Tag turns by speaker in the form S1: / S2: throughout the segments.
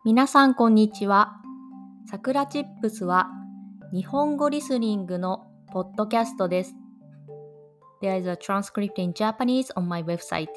S1: 皆さんこんにちは。さくらチップスは日本語リスニングのポッドキャストです。There is a transcript in Japanese on my website.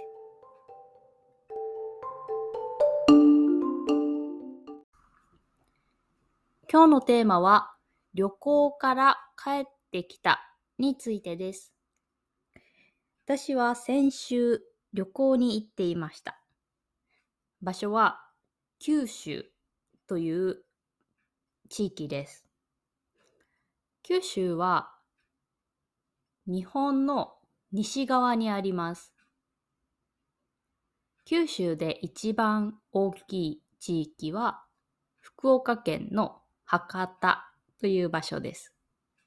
S1: 今日のテーマは旅行から帰ってきたについてです。私は先週旅行に行っていました。場所は九州という地域です。九州は日本の西側にあります。九州で一番大きい地域は福岡県の博多という場所です。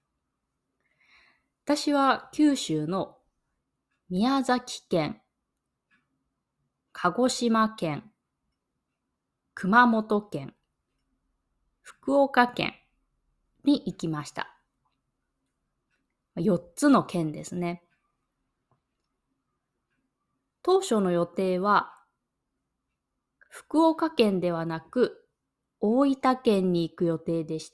S1: 私は九州の宮崎県、鹿児島県、熊本県、福岡県に行きました。4つの県ですね。当初の予定は福岡県ではなく大分県に行く予定でした。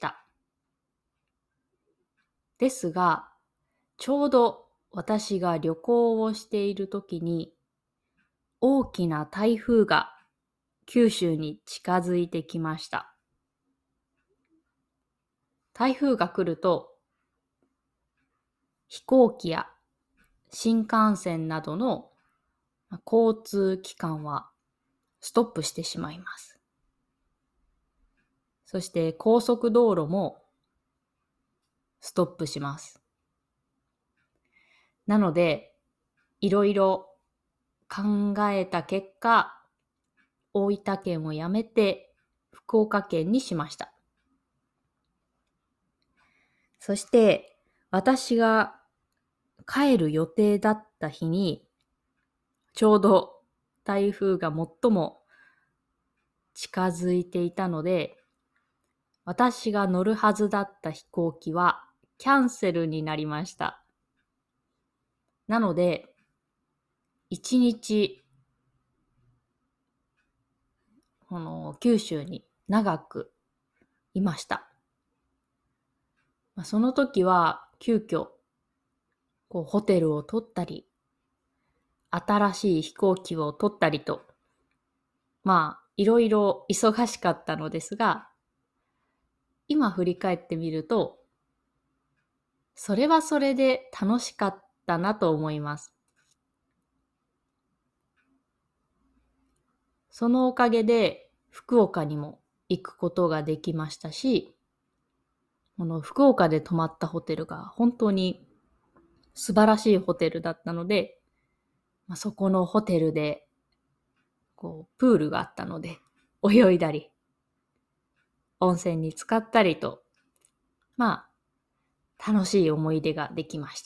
S1: ですが、ちょうど私が旅行をしている時に大きな台風が九州に近づいてきました。台風が来ると飛行機や新幹線などの交通機関はストップしてしまいます。そして高速道路もストップします。なので、いろいろ考えた結果、大分県を辞めて福岡県にしました。そして私が帰る予定だった日に、ちょうど台風が最も近づいていたので、私が乗るはずだった飛行機はキャンセルになりました。なので、一日九州に長くいました。その時は急遽ホテルを取ったり、新しい飛行機を取ったりと、いろいろ忙しかったのですが、今振り返ってみると、それはそれで楽しかったなと思います。そのおかげで福岡にも行くことができましたし、福岡で泊まったホテルが本当に素晴らしいホテルだったので、そこのホテルでプールがあったので泳いだり、温泉に浸かったりと、楽しい思い出ができました。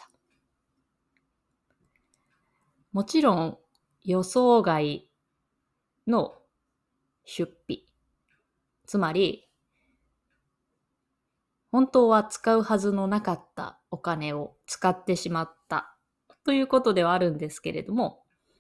S1: もちろん予想外の出費、つまり本当は使うはずのなかったお金を使ってしまったということではあるんですけれども、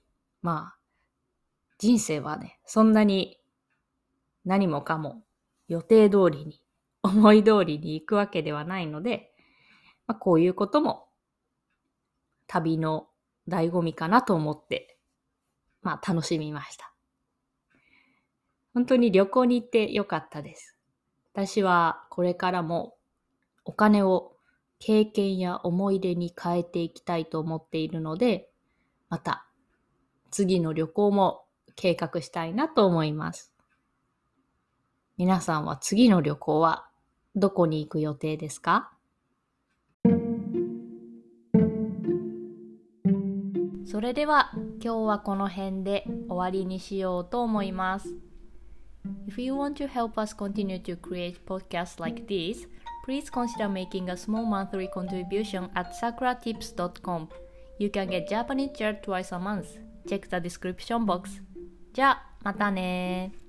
S1: 人生はね、そんなに何もかも予定通りに、思い通りに行くわけではないので、こういうことも旅の醍醐味かなと思って、楽しみました。本当に旅行に行ってよかったです。私はこれからもお金を経験や思い出に変えていきたいと思っているので、また次の旅行も計画したいなと思います。皆さんは次の旅行はどこに行く予定ですか？それでは今日はこの辺で終わりにしようと思います。If you want to help us continue to create podcasts like this, please consider making a small monthly contribution at sakuratips.com. You can get Japanese chair twice a month. Check the description box. じゃあ、またね。